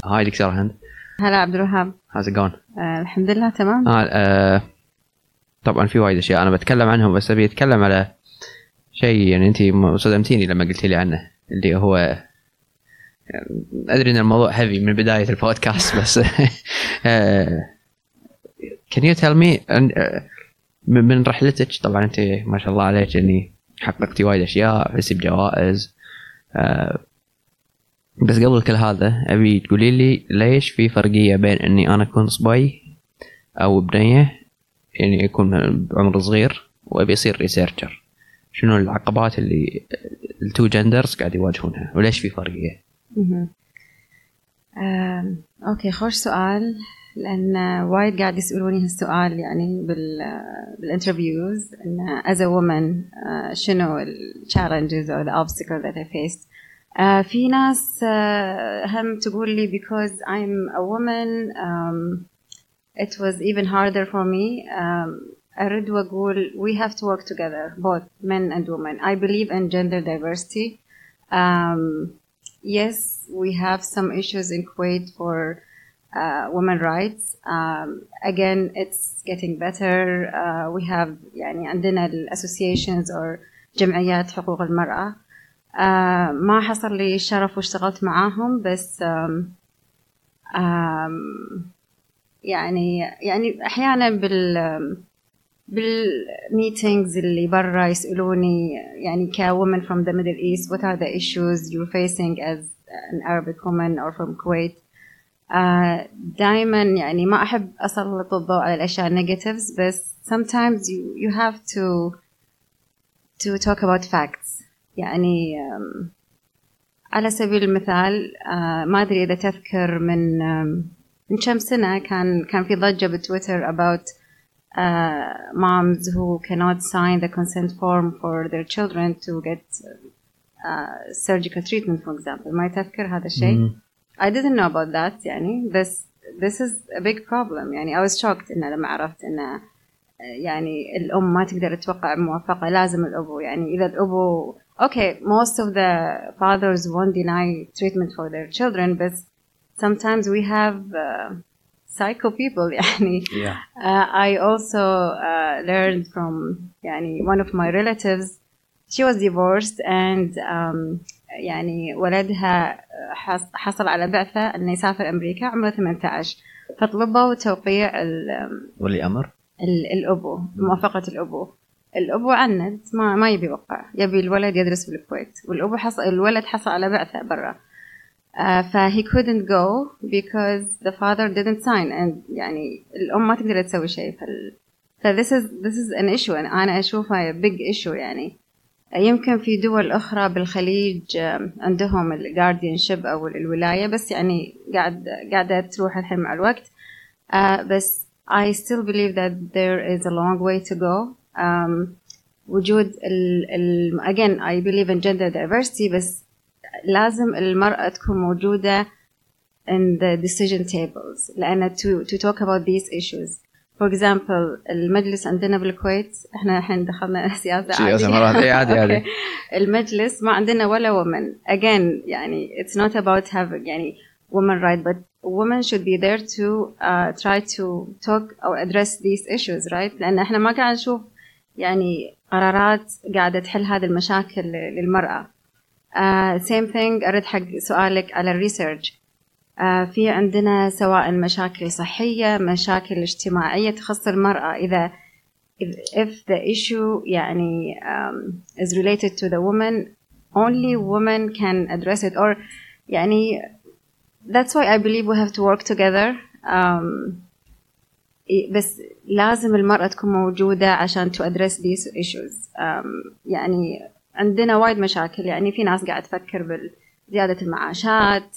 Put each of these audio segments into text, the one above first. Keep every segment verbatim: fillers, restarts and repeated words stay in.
هاي دكتور هند. هلا عبد الوهاب. how's it going؟ آه الحمد لله تمام. آه آه طبعا في وايد اشياء انا بتكلم عنهم، بس ابي اتكلم على شيء يعني انت صدمتيني لما قلت لي عنه، اللي هو يعني ادري ان الموضوع هيفي من بدايه البودكاست بس آه can you tell me من رحلتك؟ طبعا انت ما شاء الله عليك اني حققتي وايد اشياء، فزتي بجوائز، آه بس قبل كل هذا ابي تقولي لي ليش في فرقيه بين اني انا اكون صبي او بنيه، يعني يكون بعمر صغير وابي اصير ريسيرشر. شنو العقبات اللي التو جندرز قاعد يواجهونها وليش في فرقيه؟ آه، اوكي خوش سؤال، لان وايد قاعد يسالوني هالسؤال يعني بال بالانترفيوز ان as a woman uh, شنو ال challenges or the obstacles that I faced. uh, في ناس uh, هم تقول لي because I'm a woman um, it was even harder for me. um, أرد وأقول we have to work together, both men and women. I believe in gender diversity. um, yes, we have some issues in Kuwait for uh, women rights. Um, again, it's getting better. Uh, we have يعني عندنا ال associations or جمعيات حقوق المرأة. uh, ما حصل لي الشرف واشتغلت معاهم، بس um, um, يعني يعني أحيانا بال بالميتينجز اللي برا يسألوني يعني ك women from the Middle East what are the issues you're facing as an Arabic woman or from Kuwait. uh, دائما يعني ما أحب أسلط الضوء على الأشياء negatives، بس sometimes you, you have to to talk about facts. يعني um, على سبيل المثال uh, ما أدري إذا تذكر من um, من كم سنة كان كان في ضجة بتويتر about uh, moms who cannot sign the consent form for their children to get uh, surgical treatment, for example. ما تذكر هذا الشيء؟ mm. I didn't know about that يعني، بس this is a big problem. يعني I was shocked إن لما عرفت إن يعني الأم ما تقدر توقع موافقة، لازم الأبو. يعني إذا الأبو okay most of the fathers won't deny treatment for their children, but sometimes we have uh, psycho people يعني. yeah. uh, I also uh, learned from يعني one of my relatives, she was divorced and um, يعني ولدها حصل على بعثة أنه يسافر أمريكا عمره ثمانية عشر، فطلبوا توقيع ولي أمر الأبو، موافقة الأبو. الأبو عند ما ما يبي يوقع، يبي الولد يدرس في الكويت، والأبو حصل الولد حصل على بعثة برا. Uh, ف he couldn't go because the father didn't sign, and يعني الأم ما تقدر تسوي شيء. فال ف this is this is an issue، أنا أنا أشوفها big issue. يعني يمكن في دول أخرى بالخليج عندهم ال guardianship أو الولاية، بس يعني قاعد قاعدة تروح الحين مع الوقت. uh, بس I still believe that there is a long way to go. um, وجود ال ال again I believe in gender diversity، بس لازم المرأة تكون موجودة in the decision tables، لأن to to talk about these issues. for example المجلس عندنا بالكويت، احنا الحين دخلنا سياسة عادي عادي عادي. المجلس ما عندنا ولا woman. again يعني it's not about having يعني women right, but women should be there to uh, try to talk or address these issues, right؟ لأن احنا ما قاعد نشوف يعني قرارات قاعدة تحل هذه المشاكل للمرأة. Uh, same thing أرد حق سؤالك على الريسيرش. uh, في عندنا سواء مشاكل صحية، مشاكل اجتماعية تخص المرأة. إذا if the issue يعني um, is related to the woman, only women can address it, or يعني that's why I believe we have to work together. um, بس لازم المرأة تكون موجودة عشان to address these issues. um, يعني عندنا وايد مشاكل. يعني في ناس قاعد تفكر بزيادة المعاشات،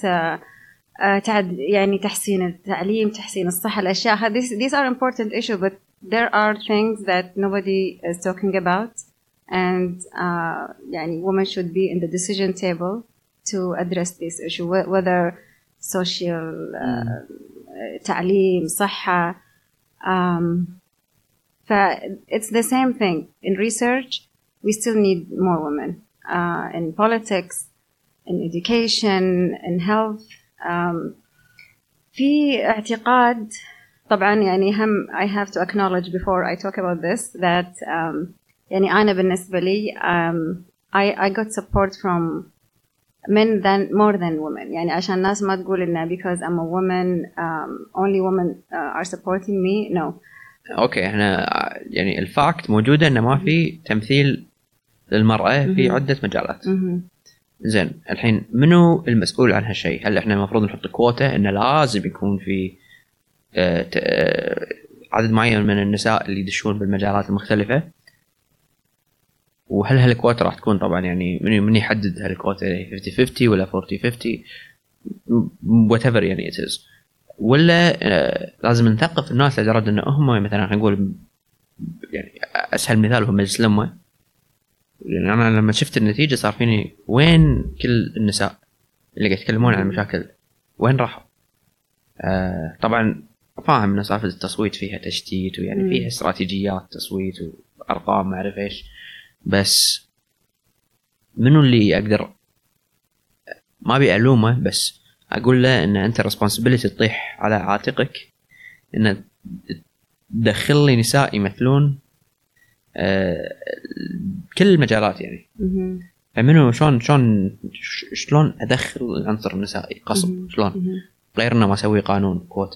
تعد يعني تحسين التعليم، تحسين الصحة، الأشياء هذه. these are important issues, but there are things that nobody is talking about, and uh, يعني women should be in the decision table to address this issue, whether social uh, تعليم، صحة. um, ف it's the same thing in research. We still need more women uh, in politics, in education, in health. Um, في اعتقاد طبعا يعني هم I have to acknowledge before I talk about this that um, يعني أنا بالنسبة لي um, I, I got support from men than more than women. يعني عشان الناس ما تقول إنه because I'm a woman um, only women uh, are supporting me. No. أوكي إحنا يعني الفاكت موجودة إنه ما في تمثيل للمرأة في عدة مجالات. زين الحين منو المسؤول عن هالشيء؟ هل إحنا المفروض نحط كوتا إنه لازم يكون في آه آه عدد معين من النساء اللي يدشون بالمجالات المختلفة؟ وهل هالكوتا راح تكون طبعا يعني من من يحدد هالكوتا خمسين خمسين ولا أربعين خمسين whatever يعني it is، ولا آه لازم نثقف الناس لدرجة إنه هم مثلا خلينا نقول يعني أسهل مثال هو مجلس الأمة. يعني أنا لما شفت النتيجة صار فيني وين كل النساء اللي قاعد يتكلمون عن المشاكل وين راحوا؟ آه طبعا فاهم إن صار التصويت فيها تشتيت ويعني فيها استراتيجيات تصويت وأرقام ما أعرف إيش، بس منو اللي أقدر ما بيألومه بس أقول له إن أنت responsibility تطيح على عاتقك إن تدخل لي نساء يمثلون آه كل المجالات يعني. فمنو شلون شلون شلون أدخل العنصر النسائي قصب شلون غير إنه ما أسوي قانون كوتا؟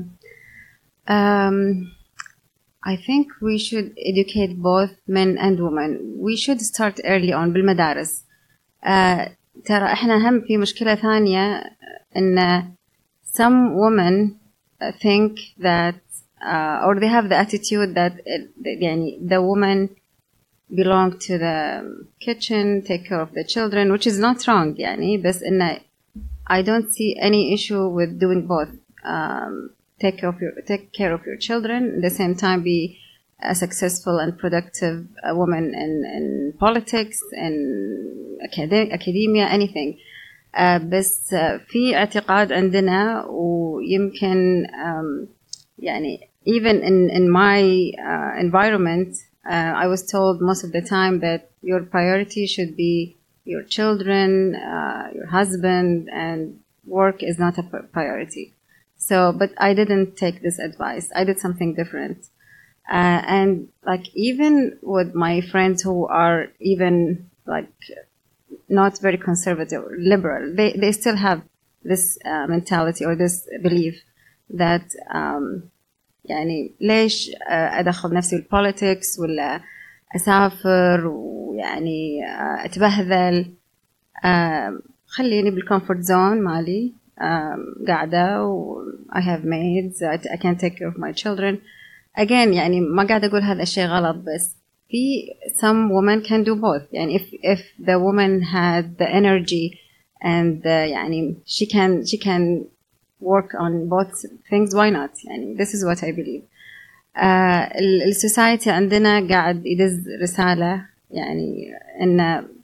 um, I think we should educate both men and women. We should start early on بالمدارس. uh, ترى إحنا هم في مشكلة ثانية إن some women think that uh, or they have the attitude that يعني the woman belong to the kitchen, take care of the children, which is not wrong يعني بس إن I don't see any issue with doing both. Um, take care of your take care of your children at the same time be a successful and productive uh, woman in in politics in acad- academia anything. uh, بس uh, في اعتقاد عندنا ويمكن um, يعني even in in my uh, environment uh, I was told most of the time that your priority should be your children, uh, your husband, and work is not a priority. So, but I didn't take this advice. I did something different. Uh, and like even with my friends who are even like not very conservative or liberal, they, they still have this uh, mentality or this belief that um, يعني ليش أدخل نفسي بالpolitics ولا أسافر ويعني أتبهذل. خليني بالcomfort zone مالي قاعدة و I have maids I can take care of my children. Again يعني ما قاعدة أقول هذا الشيء غلط بس في some women can do both. يعني if if the woman had the energy and the, يعني she can she can work on both things why not يعني this is what I believe. uh, السوسايتي عندنا قاعد يدز رسالة يعني إن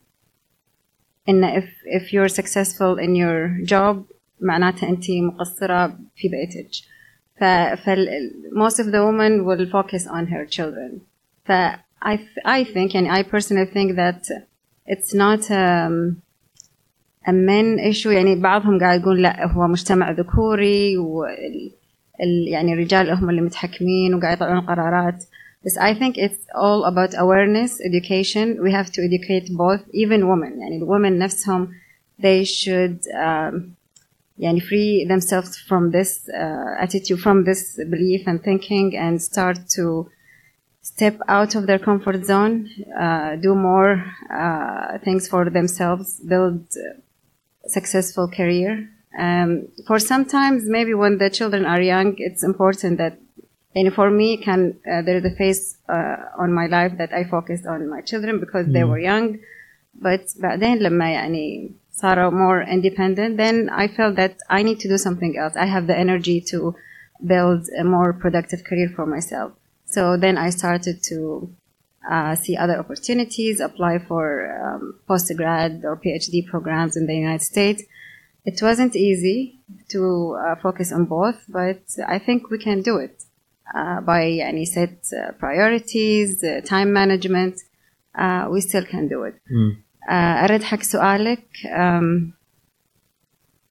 إن if if you're successful in your job معناتها أنت مقصرة في بيتك. ف most of the women will focus on her children. ف I I think يعني I personally think that it's not um, a men issue. يعني بعضهم قاعد يقول لا هو مجتمع ذكوري وال يعني الرجال هم اللي متحكمين وقاعد يطلعون قرارات. بس I think it's all about awareness, education. We have to educate both, even women. يعني the women نفسهم they should um, يعني free themselves from this uh, attitude, from this belief and thinking, and start to step out of their comfort zone, uh, do more uh, things for themselves, build a successful career. Um, for sometimes maybe when the children are young, it's important that, and for me, can uh, there is a phase uh, on my life that I focused on my children because mm. they were young. But بعدين لما يعني صاروا more independent, then I felt that I need to do something else. I have the energy to build a more productive career for myself. So then I started to uh, see other opportunities, apply for um, postgrad or PhD programs in the United States. It wasn't easy to uh, focus on both, but I think we can do it uh, by يعني set uh, priorities, uh, time management. Uh, we still can do it. Mm. Uh, أرد حق سؤالك. Um,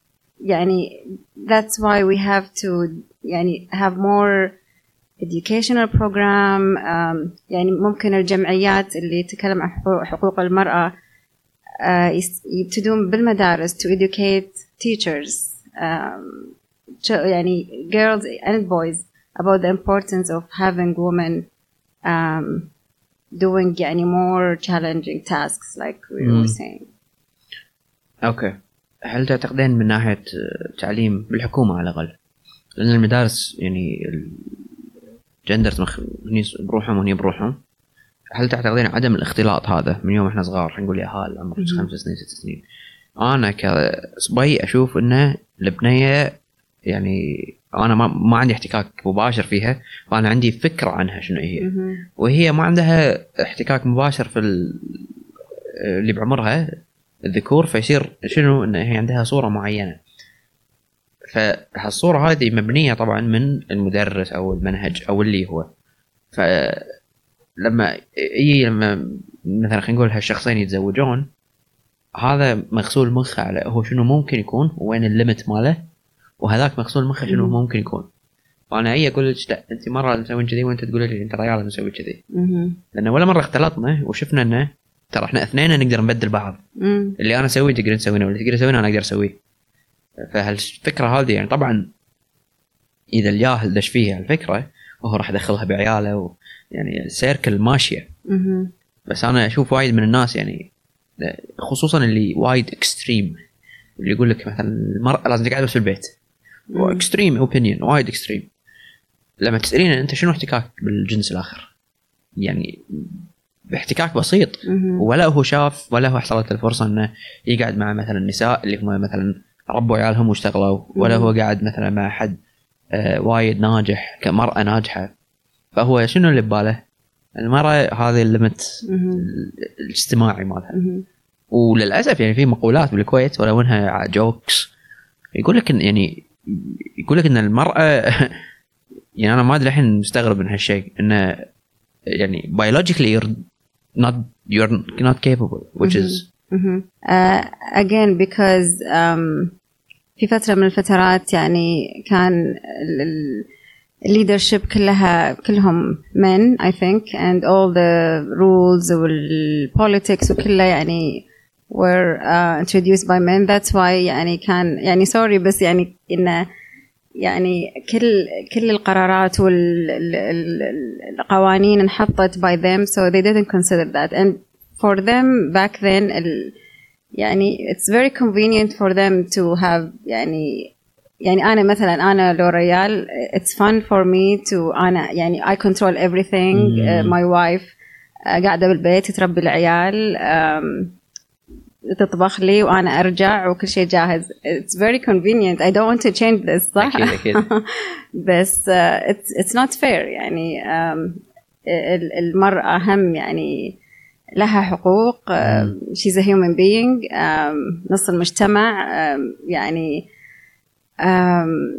يعني that's why we have to يعني have more educational program. um, يعني ممكن الجمعيات اللي تتكلم عن حقوق المرأة uh, يبتدون بالمدارس to educate teachers um, يعني girls and boys about the importance of having women um, doing يعني more challenging tasks like we mm. were saying. أوكي. هل تعتقدين من ناحية تعليم بالحكومة على الأقل، لأن المدارس يعني الجندرز هني بروحهم وهني بروحهم، هل تعتقدين عدم الاختلاط هذا من يوم إحنا صغار، نقول يا هال عمرك خمس سنين ست سنين، أنا كصبي أشوف إنه البنية يعني أنا ما ما عندي احتكاك مباشر فيها، وأنا عندي فكرة عنها شنو هي، وهي ما عندها احتكاك مباشر في اللي بعمرها الذكور، فيصير شنو إن هي عندها صورة معينة، فهالصورة هذه مبنية طبعا من المدرس أو المنهج أو اللي هو، فلما إيه لما مثلا خلينا نقول هالشخصين يتزوجون، هذا مغسول مخه على هو شنو ممكن يكون وين الليمت ماله، وهذاك مغسول مخه شنو ممكن يكون. فأنا أي أقول لك لا أنت مرة مسوين كذي وأنت تقول لي أنت رجال مسوي كذي، لأن ولا مرة اختلطنا وشفنا إنه ترى إحنا اثنين نقدر نبدل بعض، مم. اللي أنا أسويه تقدر تسوينه واللي تقدر تسوينه أنا أقدر أسويه. فهالفكرة هذه يعني طبعا إذا الجاهل دش فيها الفكرة وهو راح يدخلها بعياله و... يعني سيركل ماشية، مم. بس أنا أشوف وايد من الناس يعني خصوصا اللي وايد إكستريم، اللي يقول لك مثلا المرأة لازم تقعد بس في البيت، وإكستريم أوبينيون وايد إكستريم. لما تسألين أنت شنو احتكاك بالجنس الآخر، يعني باحتكاك بسيط، ولا هو شاف ولا هو حصلت الفرصة أنه يقعد مع مثلا النساء اللي هم مثلا ربوا عيالهم واشتغلوا، ولا هو قاعد مثلا مع حد آه وايد ناجح كمرأة ناجحة، فهو شنو اللي بباله؟ المرأة هذه الليمت الاجتماعي مالها. وللأسف يعني في مقولات بالكويت ولو انها جوكس يقول لك يعني يقول لك ان المرأة يعني انا ما ادري الحين مستغرب من هالشيء، انه يعني biologically you're not you're not capable which is uh, again because um, في فترة من الفترات يعني كان leadership كلها كلهم men I think and all the rules والpolitics وكلها يعني were uh, introduced by men. That's why يعني كان يعني sorry بس يعني إنه يعني كل كل القرارات والقوانين انحطت by them so they didn't consider that and for them back then ال, يعني it's very convenient for them to have يعني يعني أنا مثلا أنا لو ريال it's fun for me to أنا يعني I control everything mm. uh, my wife uh, قاعدة بالبيت تربي العيال um, تطبخ لي وأنا أرجع وكل شيء جاهز. It's very convenient. I don't want to change this صح؟ أكيد أكيد. بس uh, it's it's not fair يعني um, المرأة هم يعني لها حقوق uh, she's a human being um, نص المجتمع um, يعني um,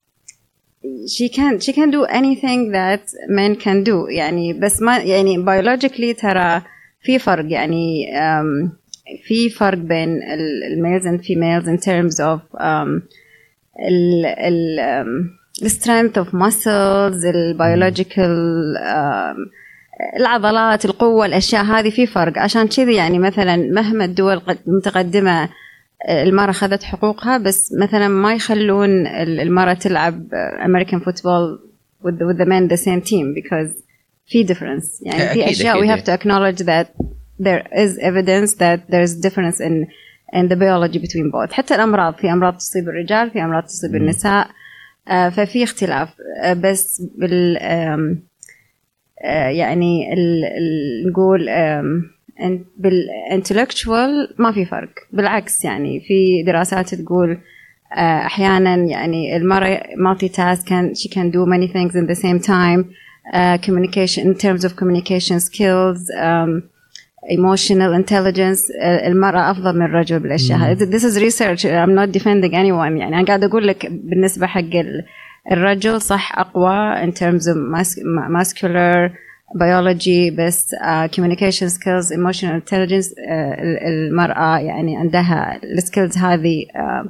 she can she can do anything that men can do يعني بس ما يعني biologically ترى في فرق يعني um, في فرق بين ال males and females in terms of um, ال ال um, the strength of muscles, ال biological um, العضلات، القوة، الأشياء هذه في فرق. عشان كذي يعني مثلا مهما الدول متقدمة المرأة أخذت حقوقها بس مثلا ما يخلون المرأة تلعب American football with the, with the men the same team because في difference يعني في أشياء we have to acknowledge that there is evidence that there is difference in in the biology between both. حتى الأمراض في أمراض تصيب الرجال في أمراض تصيب mm. النساء uh, ففي اختلاف uh, بس بال um, uh, يعني ال, ال, نقول um, بالintellectual ما في فرق بالعكس يعني في دراسات تقول uh, أحيانا يعني المرأة multitask can she can do many things in the same time uh, communication in terms of communication skills um, emotional intelligence المرأة أفضل من الرجل بالأشياء. This is research. I'm not defending anyone. يعني أنا قاعد أقول لك بالنسبة حق الرجل صح أقوى in terms of muscular biology بس uh, communication skills emotional intelligence uh, المرأة يعني عندها الskills هذه uh,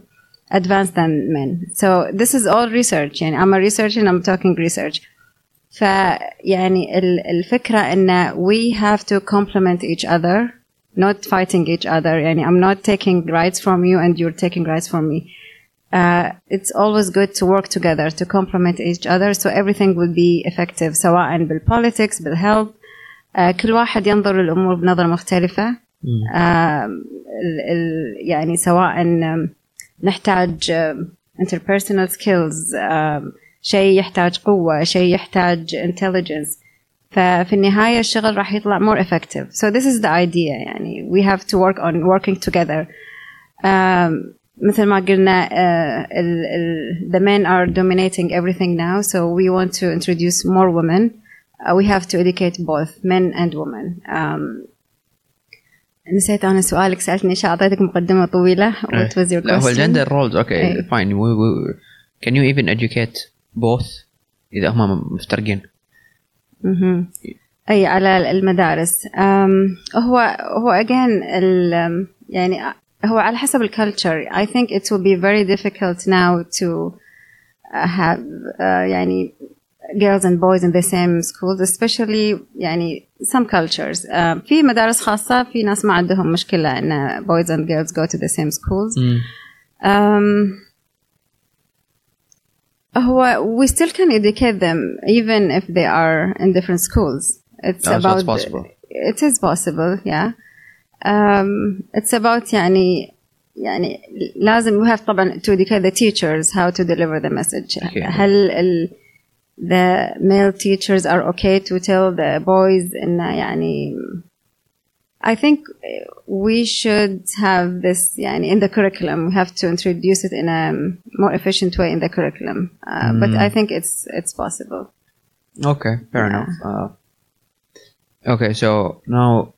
advanced than men. So this is all research. يعني I'm a researcher and I'm talking research. فيعني الفكرة إن we have to complement each other, not fighting each other. يعني I'm not taking rights from you and you're taking rights from me. Uh, it's always good to work together to complement each other so everything will be effective سواء بالpolitics بالhealth. uh, كل واحد ينظر للأمور بنظرة مختلفة. uh, ال, ال, يعني سواء نحتاج uh, interpersonal skills, uh, شيء يحتاج قوة, شيء يحتاج intelligence. ففي النهاية الشغل راح يطلع more effective. So this is the idea. يعني we have to work on working together. um, مثل ما قلنا uh, ال, ال, the men are dominating everything now, so we want to introduce more women. uh, we have to educate both men and women. um, نسيت أنا سؤالك, سألتني إيش, أعطيتك مقدمة طويلة. What was your question? لا هو gender roles. okay hey. fine. we, we, can you even educate both إذا هم مفترقين؟ mm-hmm. أي على المدارس. um, هو هو again ال, يعني هو على حسب الكالتشر. I think it will be very difficult now to uh, have uh, يعني girls and boys in the same schools, especially يعني some cultures. uh, في مدارس خاصة في ناس ما عندهم مشكلة إن boys and girls go to the same schools. mm. um, هو we still can educate them even if they are in different schools. It's no, about so it's possible. It is possible, yeah. Um, it's about يعني يعني لازم we have طبعا to educate the teachers how to deliver the message. okay. هل ال, the male teachers are okay to tell the boys إن يعني I think we should have this يعني in the curriculum. We have to introduce it in a more efficient way in the curriculum. Uh, mm. But I think it's it's possible. Okay, fair yeah. enough. Uh, okay, so now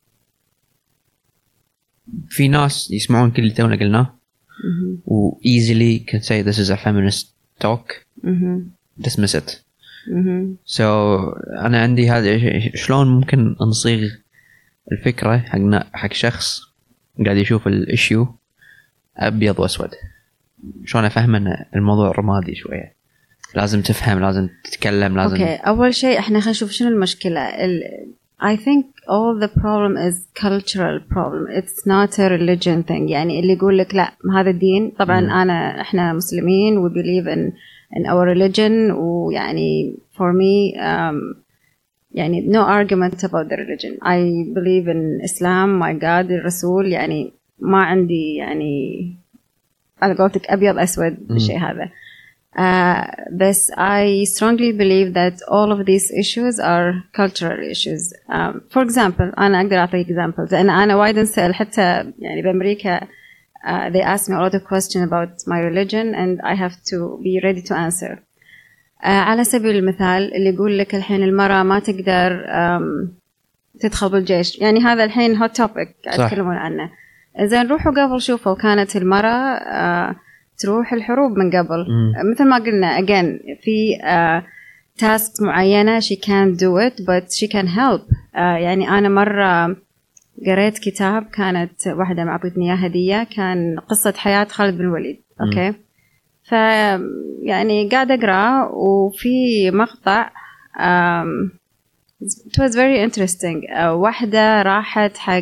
في ناس يسمعون كل اللي تونا قلناه و easily can say this is a feminist talk. mm-hmm. dismiss it. mm-hmm. So أنا عندي هذا, شلون ممكن نصيغ الفكرة حقنا حق شخص قاعد يشوف الاشيو أبيض وأسود؟ شلون أفهم أن الموضوع رمادي شوية؟ لازم تفهم, لازم تتكلم, لازم. okay. أول شيء إحنا خلينا نشوف شنو المشكلة. ال I think all the problem is cultural problem. It's not a religion thing. يعني اللي يقول لك لا هذا الدين, طبعا mm. أنا إحنا مسلمين, we believe in in our religion, ويعني for me um, يعني no argument about the religion. I believe in Islam, my God, الرسول. يعني ما عندي يعني أنا قلتك أبيض أسود بالشيء هذا. Uh, but I strongly believe that all of these issues are cultural issues. Um, for example, أنا أقدر أعطيك examples. لأن أنا وايد أسأل حتى يعني بأمريكا. Uh, they ask me a lot of questions about my religion and I have to be ready to answer. uh, على سبيل المثال اللي يقول لك الحين المرأة ما تقدر um, تدخل بالجيش, يعني هذا الحين hot topic قاعد يتكلمون عنه. إذا نروحوا قبل شوفوا كانت المرأة uh, تروح الحروب من قبل. mm. مثل ما قلنا again في uh, tasks معينة she can't do it but she can help. uh, يعني أنا مرة قريت كتاب, كانت واحدة معطتني إياه هدية, كان قصة حياة خالد بن الوليد. أوكي, ف يعني قاعدة أقرأ وفي مقطع um, it was very interesting. uh, واحدة راحت حق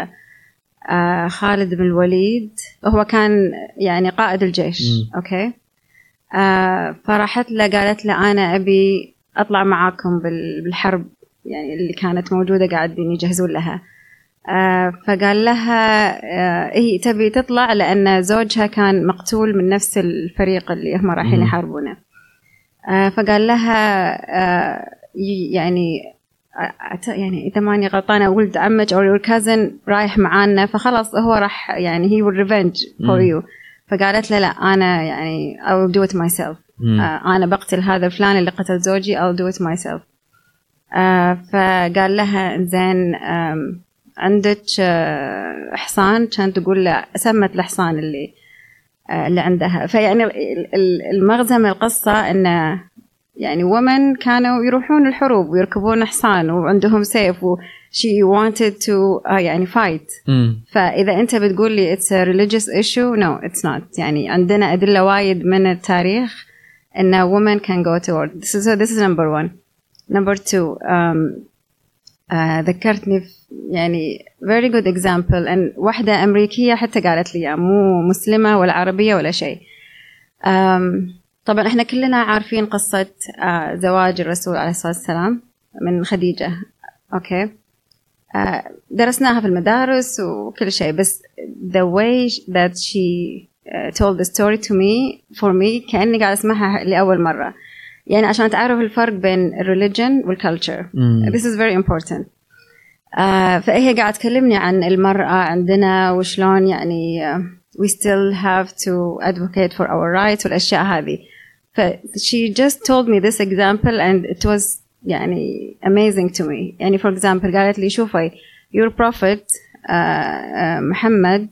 uh, خالد بن الوليد, هو كان يعني قائد الجيش. م. أوكي, uh, فراحت له قالت له أنا أبي أطلع معاكم بالحرب يعني اللي كانت موجودة قاعدين يجهزون لها. آه فقال لها آه هي تبي تطلع لأن زوجها كان مقتول من نفس الفريق اللي هم رايحين يحاربونه. آه فقال لها آه يعني يعني إذا ماني غلطانة ولد عمك أو your cousin رايح معانا, فخلاص هو راح يعني he will revenge for you. فقالت له لا أنا يعني I will do it myself. آه أنا بقتل هذا الفلان اللي قتل زوجي, I'll do it myself. آه فقال لها زين عندك حصان, كانت تقول له سمت الحصان اللي اللي عندها. فيعني المغزى من القصة إنه يعني women كانوا يروحون الحروب ويركبون حصان وعندهم سيف و she wanted to uh, يعني fight. mm. فإذا أنت بتقول لي it's a religious issue, no it's not. يعني عندنا أدلة وايد من التاريخ إن women can go to war. So, so this is number one. Number two, um, uh, ذكرتني يعني very good example. and واحدة أمريكية حتى قالت لي مو مسلمة ولا عربية ولا شيء. um, طبعا إحنا كلنا عارفين قصة uh, زواج الرسول عليه الصلاة والسلام من خديجة. أوكي okay. uh, درسناها في المدارس وكل شيء. بس the way that she uh, told the story to me for me كأني قاعد أسمعها لأول مرة. يعني عشان تعرف الفرق بين religion والculture. mm. This is very important. uh, فهي قاعد تكلمني عن المرأة عندنا وشلون يعني uh, we still have to advocate for our rights والأشياء هذه. ف she just told me this example and it was يعني amazing to me. يعني for example قالت لي شوفي your prophet uh, uh, محمد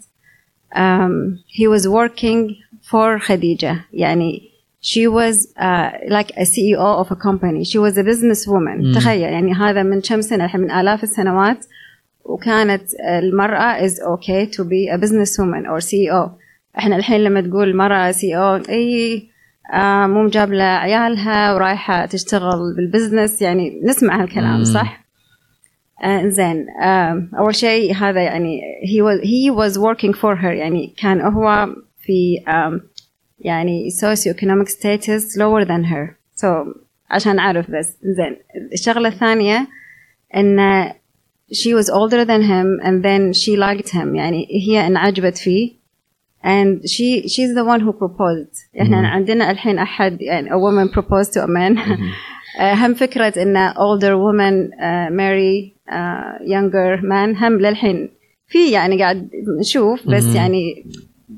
um, he was working for خديجة. يعني she was uh, like a C E O of a company. She was a businesswoman. mm. تخيل يعني هذا من كم سنة الحين من آلاف السنوات وكانت المرأة is okay to be a businesswoman or C E O. احنا الحين لما تقول مرأة C E O اي آه مو مجابلة عيالها ورايحة تشتغل بالبزنس يعني نسمع هالكلام. mm. صح؟ آه زين. آه أول شيء هذا يعني he was he was working for her. يعني كان هو في um, يعني socio-economic status lower than her. so عشان أعرف بس. زين. الشغلة الثانية إن she was older than him and then she liked him. يعني هي انعجبت فيه and she she's the one who proposed. إحنا mm-hmm. عندنا الحين أحد يعني a woman proposed to a man. mm-hmm. هم فكرة إن older women uh, marry uh, younger man هم للحين في يعني قاعد نشوف بس mm-hmm. يعني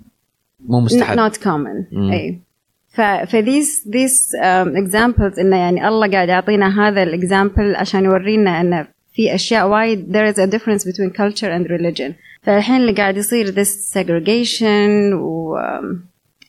مو مستحب. not common. mm. أي. ف ف these these um, examples إنه يعني الله قاعد يعطينا هذا الإكزامبل عشان يورينا إنه في أشياء وايد there is a difference between culture and religion. فالحين اللي قاعد يصير this segregation و um,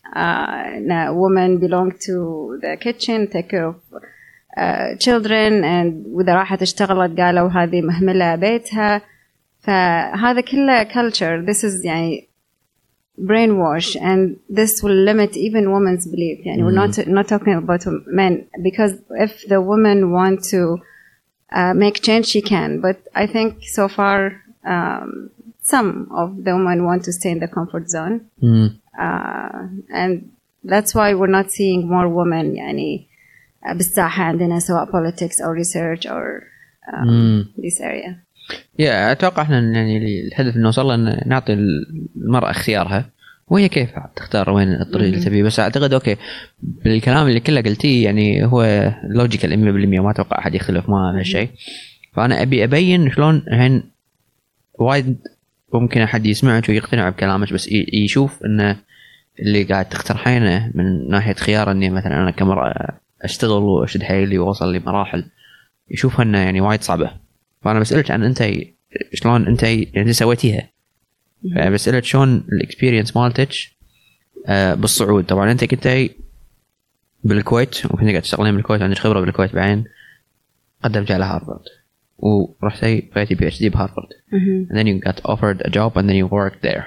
uh, women belong to the kitchen take care of uh, children and وإذا راحت اشتغلت قالوا هذه مهملة بيتها. فهذا كله culture. This is يعني brainwash and this will limit even women's belief. يعني mm. we're not not talking about men because if the women want to uh, make change she can, but I think so far um, some of the women want to stay in the comfort zone. mm. uh, and that's why we're not seeing more women يعني بالساحة عندنا سواء politics or research or um, mm. this area. يا أتوقع إحنا يعني الهدف إنه نوصل إن نعطي المرأة اختيارها وهي كيف تختار وين الطريق اللي تبيه. بس أعتقد أوكي بالكلام اللي كله قلتيه يعني هو لوجيكال مية بالمية ما أتوقع أحد يختلف معه هالشيء. فأنا أبي أبين شلون الحين وايد ممكن أحد يسمعك ويقتنع بكلامك بس يشوف إنه اللي قاعد تقترحينه من ناحية خيار إني مثلا أنا كمرأة أشتغل وأشد حيلي وأوصل لمراحل يشوفها إنه يعني وايد صعبة. فأنا بسألك عن أنت شلون أنت يعني سويتيها. فبسألك شلون الإكسبيرينس مالتك آه بالصعود. طبعا أنت كنت بالكويت وكنت قاعد تشتغلين بالكويت عندك خبرة بالكويت بعدين قدمت على هارفارد ورحتي بقيتي بي اتش دي بهارفارد and then you got offered a job and then you worked there.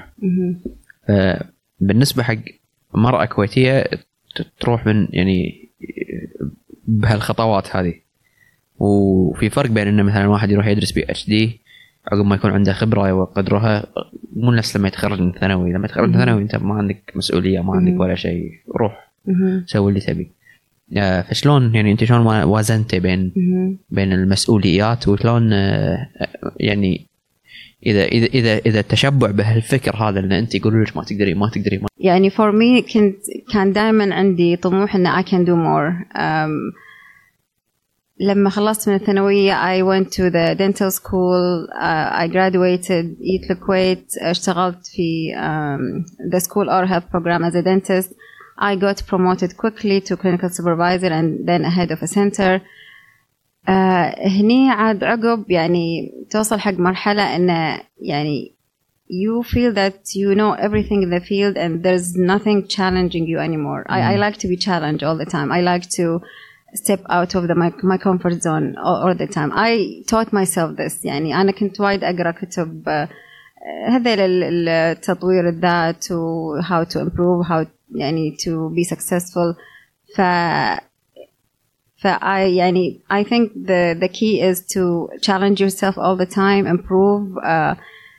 فبالنسبة حق مرأة كويتية تروح من يعني بهالخطوات هذه وفي فرق بين إنه مثلا واحد يروح يدرس بي اتش دي عقب ما يكون عنده خبرة وقدرها مو نفس لما يتخرج من الثانوي. لما يتخرج من الثانوي أنت ما عندك مسؤولية ما عندك ولا شيء روح سوي اللي تبي. فشلون يعني أنت شلون وازنت بين بين المسؤوليات وشلون يعني إذا إذا إذا إذا التشبع بهالفكر هذا إن أنت يقولوا لك ما تقدري ما تقدري ما يعني for me كنت كان دائما عندي طموح إن I can do more. um, لما خلصت من الثانوية I went to the dental school. uh, I graduated EAT الكويت. اشتغلت في um, the school oral health program as a dentist. I got promoted quickly to clinical supervisor and then a head of a center. uh, هني عاد عقب يعني توصل حق مرحلة إن يعني you feel that you know everything in the field and there's nothing challenging you anymore. mm. I, I like to be challenged all the time. I like to step out of the my, my comfort zone all, all the time. I taught myself this. يعني أنا كنت وايد أقرأ كتب هذا التطوير الذات و how to improve, how يعني to be successful. ف ف I يعني I think the the key is to challenge yourself all the time, improve, uh,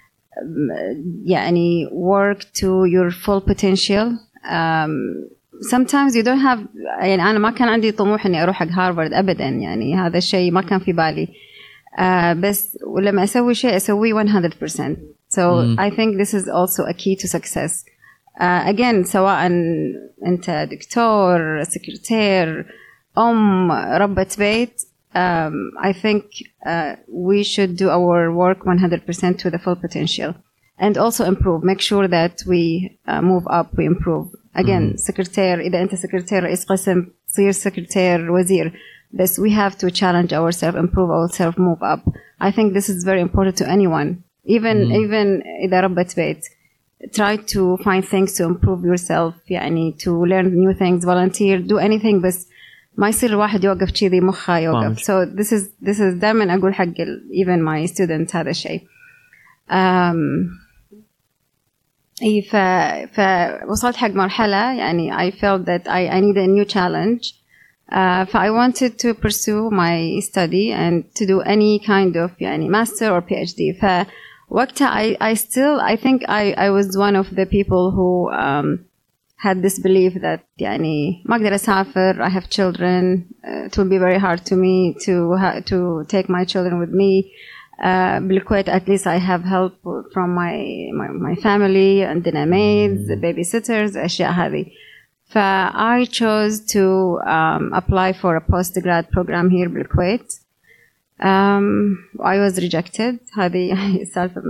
يعني work to your full potential. Um, sometimes you don't have يعني أنا ما كان عندي طموح إني أروح حق هارفارد أبدا، يعني هذا الشيء ما كان في بالي. uh, بس ولما أسوي شيء أسويه one hundred percent. So mm. I think this is also a key to success. Uh, again سواء أنت دكتور، سكرتير، أم، ربة بيت. Um, I think uh, we should do our work one hundred percent to the full potential and also improve. Make sure that we uh, move up, we improve. Again, mm-hmm. سكرتير، إذا أنت سكرتير رئيس قسم تصير سكرتير وزير. But we have to challenge ourselves, improve ourselves, move up. I think this is very important to anyone. Even mm-hmm. even إذا ربة بيت. Try to find things to improve yourself. يعني to learn new things, volunteer, do anything. بس ما يصير الواحد يوقف كذي مخه يوقف. So this is this is دائما أقول حق even my students هذا الشيء. Um, إيه ف فوصلت حق مرحلة يعني I felt that I I need a new challenge. Uh, ف I wanted to pursue my study and to do any kind of يعني master or PhD. ف وقتها I I still I think I I was one of the people who um, had this belief that يعني ما أقدر أسافر. I have children. Uh, it will be very hard to me to ha to take my children with me. Uh, بالكويت at least I have help from my my, my family عندنا maids, babysitters, أشياء هذه. ف I chose to um, apply for a postgrad program here بالكويت. Um, I was rejected. هذه سالفة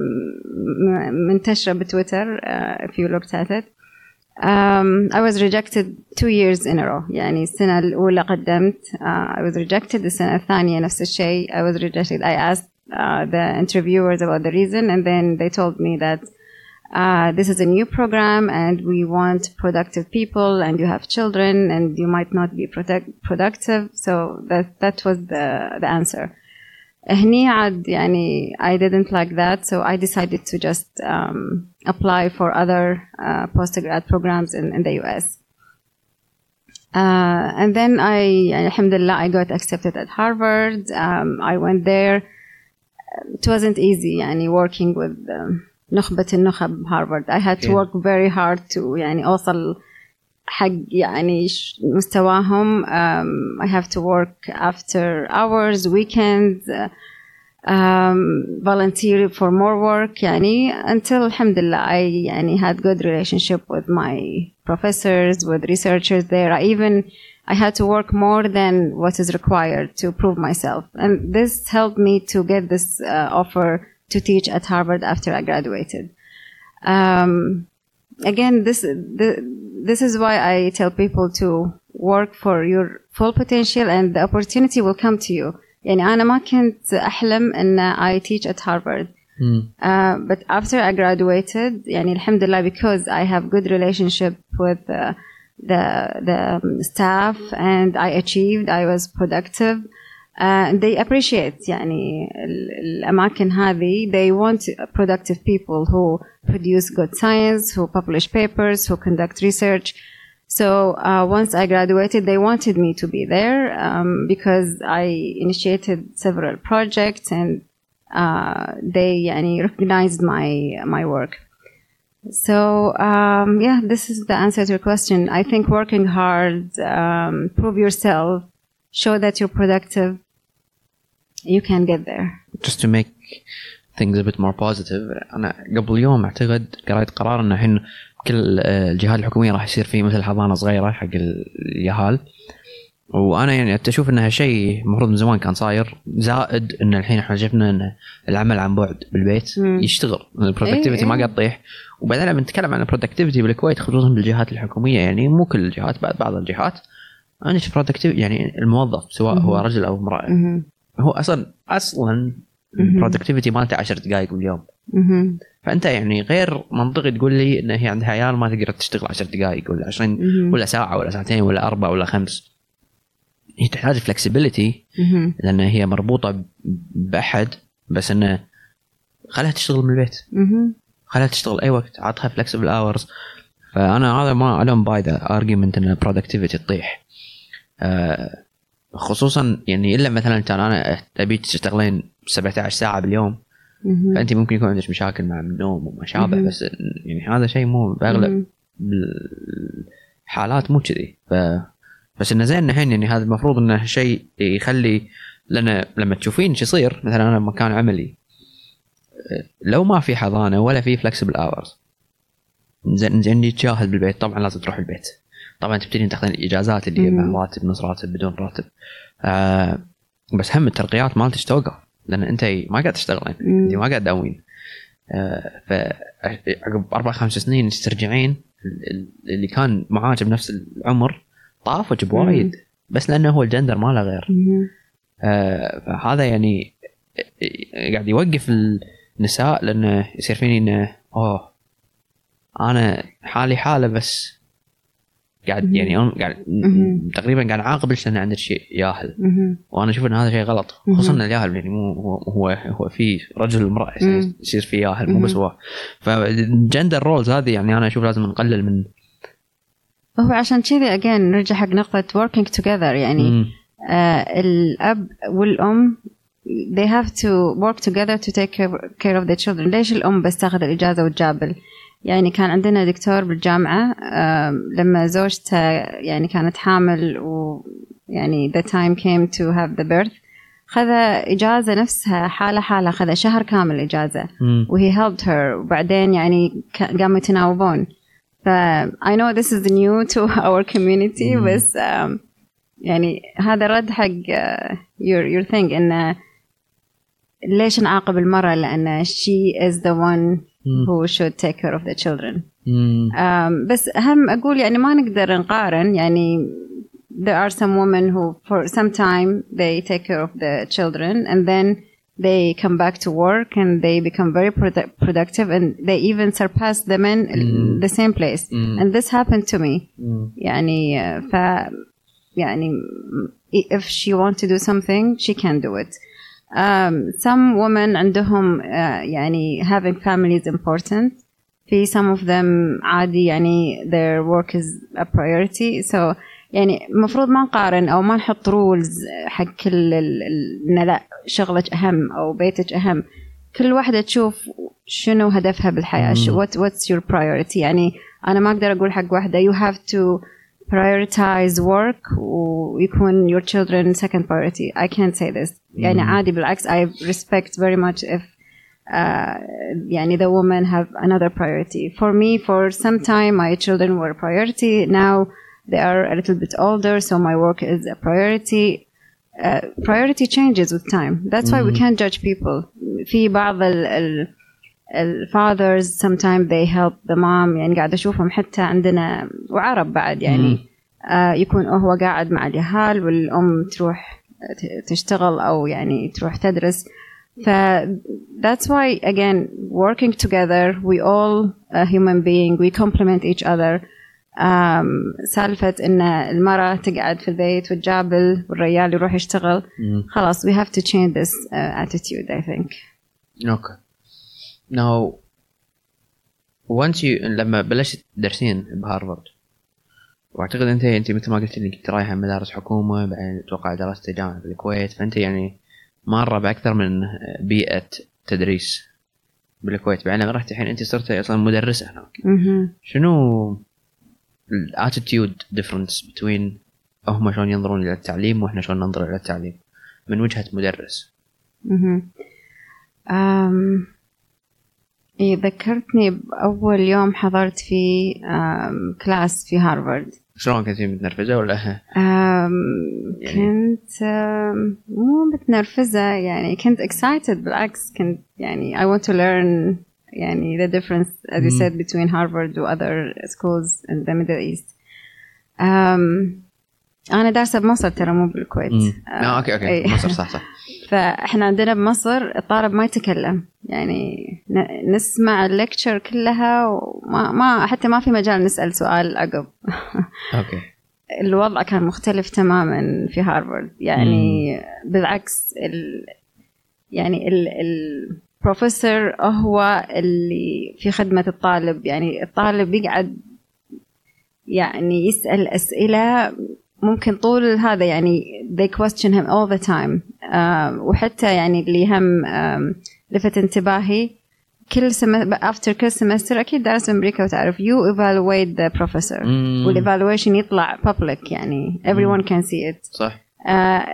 منتشرة بتويتر uh, if you looked at it. Um, I was rejected two years in a row. يعني السنة الأولى قدمت uh, I was rejected. السنة الثانية نفس الشيء I was rejected. I asked uh, the interviewers about the reason and then they told me that uh, this is a new program and we want productive people and you have children and you might not be protect productive. So that that was the the answer. هني عاد يعني I didn't like that, so I decided to just um, apply for other uh, postgrad programs in, in the U S. Uh, and then I, alhamdulillah, I got accepted at Harvard. Um, I went there. It wasn't easy, يعني working with um, نخبة النخب Harvard. I had to yeah. work very hard to يعني أوصل حق يعني مستواهم. um, I have to work after hours, weekends, uh, um, volunteer for more work يعني until alhamdulillah I يعني had good relationship with my professors, with researchers there. I even I had to work more than what is required to prove myself, and this helped me to get this uh, offer to teach at Harvard after I graduated. Um, again, this the, this is why I tell people to work for your full potential and the opportunity will come to you. يعني أنا ما كنت أحلم أن I teach at Harvard. Mm. Uh, but after I graduated, يعني alhamdulillah, because I have good relationship with uh, the the staff and I achieved, I was productive. Uh, they appreciate يعني الأماكن هذه. They want productive people who produce good science, who publish papers, who conduct research. So uh, once I graduated, they wanted me to be there um, because I initiated several projects and uh, they يعني recognized my my work. So um, yeah, this is the answer to your question. I think working hard, um, prove yourself, show that you're productive, you can get there. Just to make things a bit more positive, أنا قبل يوم أعتقد قرأت قرار إنه الحين كل الجهات الحكومية راح يصير فيه مثل حضانة صغيرة حق اليهال، وأنا يعني أشوف إنها شيء مفروض من زمان كان صاير، زائد إن الحين إحنا شفنا إن العمل عن بعد بالبيت مم. يشتغل، البرودكتيفيتي ما قاعد تطيح. وبعدين لما نتكلم عن البرودكتيفيتي بالكويت خصوصا بالجهات الحكومية، يعني مو كل الجهات، بعد بعض الجهات أنا شفت برودكتيفيتي يعني الموظف سواء مم. هو رجل أو امرأة مم. هو أصلا أصلا البرودكتيفيتي مالته عشر دقائق باليوم. مم. فأنت يعني غير منطقي تقول لي إن هي عندها عيال ما تقدر تشتغل عشر دقائق ولا عشرين ولا ساعة ولا ساعتين ولا أربعة ولا خمس. هي تحتاج فلكسبيليتي لأن هي مربوطة بأحد، بس إنه خلها تشتغل من البيت، خلها تشتغل أي وقت، عطها flexible hours. فأنا هذا ما ألوم باي ذا argument إن productivity تطيح، آه خصوصا يعني إلا مثلا كان أنا أبي تشتغلين سبعة عشر ساعة باليوم، فأنت ممكن يكون عندك مشاكل مع النوم وما شابه، بس يعني هذا شيء مو بأغلب الحالات مو كذي. ف بس إنه زين الحين يعني هذا المفروض إنه شيء يخلي لنا لما تشوفين شو يصير مثلا أنا مكان عملي لو ما في حضانة ولا في flexible hours، زين زين تشاهد بالبيت، طبعا لازم تروح البيت، طبعا تبتدين تاخذين الإجازات اللي مع راتب نص راتب بدون راتب، آه بس هم الترقيات مالتك توقف لأن أنت ما قاعد تشتغلين، أنت ما قاعد تداوين، آه فعقب أربع خمس سنين ترجعين اللي كان معاك بنفس العمر طافك بوايد، بس لأنه هو الجندر ما له غير. آه فهذا يعني قاعد يوقف النساء لأنه يصير فيني إنه أوه أنا حالي حالة بس قاعد يعني قاعد تقريبا قاعد عاقب لأن عندك شيء ياهل، وأنا أشوف إن هذا شيء غلط، خصوصا الياهل يعني مو هو هو هو في رجل المرأة يصير في ياهل مو بس هو. فالجندر رولز هذه يعني أنا أشوف لازم نقلل من هو عشان كذي again نرجع حق نقطة working together يعني آه الأب والأم they have to work together to take care of the children. ليش الأم بس تاخذ الإجازة وتجابل؟ يعني كان عندنا دكتور بالجامعة لما زوجته يعني كانت حامل ويعني the time came to have the birth، خذ إجازة نفسها حالة حالة، خذ شهر كامل إجازة وهي helped her، وبعدين يعني قاموا يتناوبون. ف I know this is new to our community بس يعني هذا رد حق your your thing إنه ليش نعاقب المرأة لأن she is the one who should take care of the children. um, بس أهم أقول يعني ما نقدر نقارن، يعني there are some women who for some time they take care of the children and then they come back to work and they become very produ- productive and they even surpass the men in the same place. And this happened to me. يعني ف يعني if she wants to do something she can do it. Um, some women عندهم uh, يعني having family is important. في some of them عادي يعني their work is a priority. So يعني مفروض ما نقارن أو ما نحط rules حق كل إن لا شغلك أهم أو بيتك أهم. كل واحدة تشوف شنو هدفها بالحياة. what what's your priority. يعني أنا ما أقدر أقول حق واحدة you have to prioritize work ويكون your children second priority. I can't say this. يعني عادي بالعكس I respect very much if uh, يعني the women have another priority. For me for some time my children were a priority. Now they are a little bit older so my work is a priority. Uh, priority changes with time. That's why we can't judge people. في بعض ال, ال الfathers sometimes they help the mom. يعني قاعد أشوفهم حتى عندنا وعرب بعد يعني آه يكون هو قاعد مع اليهال والأم تروح تشتغل أو يعني تروح تدرس. ف that's why again working together we all a human being we complement each other. um, سالفة إن المرأة تقعد في البيت وتجابل والرجال يروح يشتغل خلاص we have to change this uh, attitude I think. Okay. Now, once you لما بلشت تدرسين بهارفارد واعتقد انت انت مثل ما قلت لي كنت رايحه مدارس حكومه بعدين اتوقع درست جامعه بالكويت، فانت يعني مره باكثر من بيئه تدريس بالكويت، بعدين رحت الحين انت صرت اصلا مدرسه هناك. شنو الاتيتيود ديفرنس بين هم شلون ينظرون الى التعليم واحنا شلون ننظر الى التعليم من وجهه مدرس؟ امم إيه ذكرتني بأول يوم حضرت في كلاس في هارفارد. شلون كنتي متنرفزة ولا؟ يعني كنت مو متنرفزة يعني كنت excited بالعكس كنت يعني I want to learn يعني the difference as you said between Harvard and other schools in the Middle East. um, أنا دارسة بمصر ترى مو بالكويت. آه أوكي أوكي مصر صح صح. فإحنا عندنا بمصر الطالب ما يتكلم يعني نسمع الليكتشر كلها وما ما حتى ما في مجال نسأل سؤال عقب. أوكي. الوضع كان مختلف تماما في هارفارد يعني. مم. بالعكس ال يعني ال البروفيسور هو اللي في خدمة الطالب. يعني الطالب يقعد يعني يسأل أسئلة ممكن طول هذا يعني they question him all the time. uh, وحتى يعني اللي هم uh, لفت انتباهي كل سم after كل semester أكيد درس أمريكا وتعرف you evaluate the professor mm. والevaluation يطلع public يعني everyone mm. can see it. صح. uh,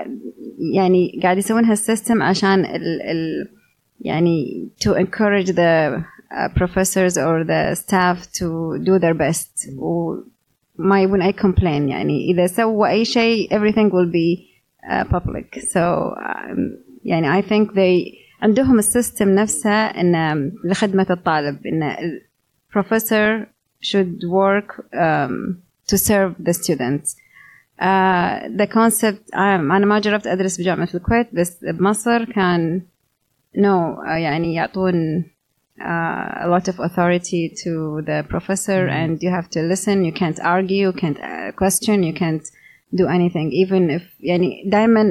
يعني قاعد يسوون هالسيستم عشان ال ال يعني to encourage the uh, professors or the staff to do their best. و ما يبون أي complain يعني إذا سووا أي شيء everything will be uh, public. so um, يعني I think they عندهم السيستم نفسه إن لخدمة الطالب إن professor should work um, to serve the students. uh, the concept um, أنا ما جربت أدرس بجامعة الكويت بس بمصر كان no uh, يعني يعطون Uh, a lot of authority to the professor mm. and you have to listen, you can't argue, you can't uh, question, you can't do anything even if يعني دائما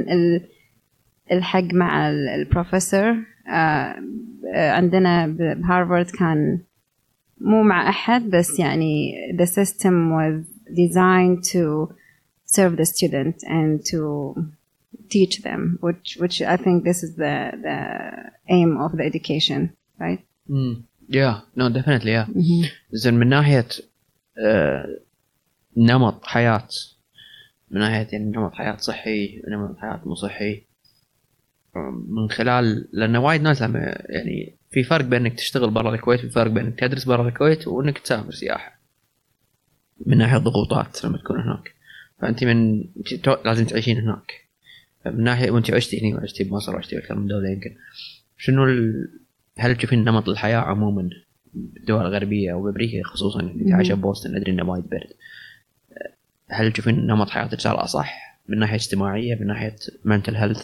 الحق مع البروفيسور. uh, عندنا بهارفارد كان مو مع أحد بس يعني the system was designed to serve the student and to teach them which which I think this is the the aim of the education, right? Mm. Yeah, no, definitely, yeah. Mm-hmm. زين من ناحية uh, نمط حياة، من ناحية يعني نمط حياة صحي نمط حياة مو صحي، من خلال لأن وايد ناس يعني في فرق بين إنك تشتغل برا الكويت وفي فرق بين إنك تدرس برا الكويت وإنك تسافر سياحة من ناحية ضغوطات لما تكون هناك. فأنت من لازم تعيشين هناك من ناحية وأنت عشتي هنا وعشتي بمصر وعشتي أكثر من دولة يمكن. شنو ال... هل تشوفين نمط الحياة عموما بالدول الغربية أو بأمريكا خصوصا اللي عايشة بوسطن أدري إنه وايد برد، هل تشوفين نمط حياتك صار أصح من ناحية اجتماعية من ناحية mental health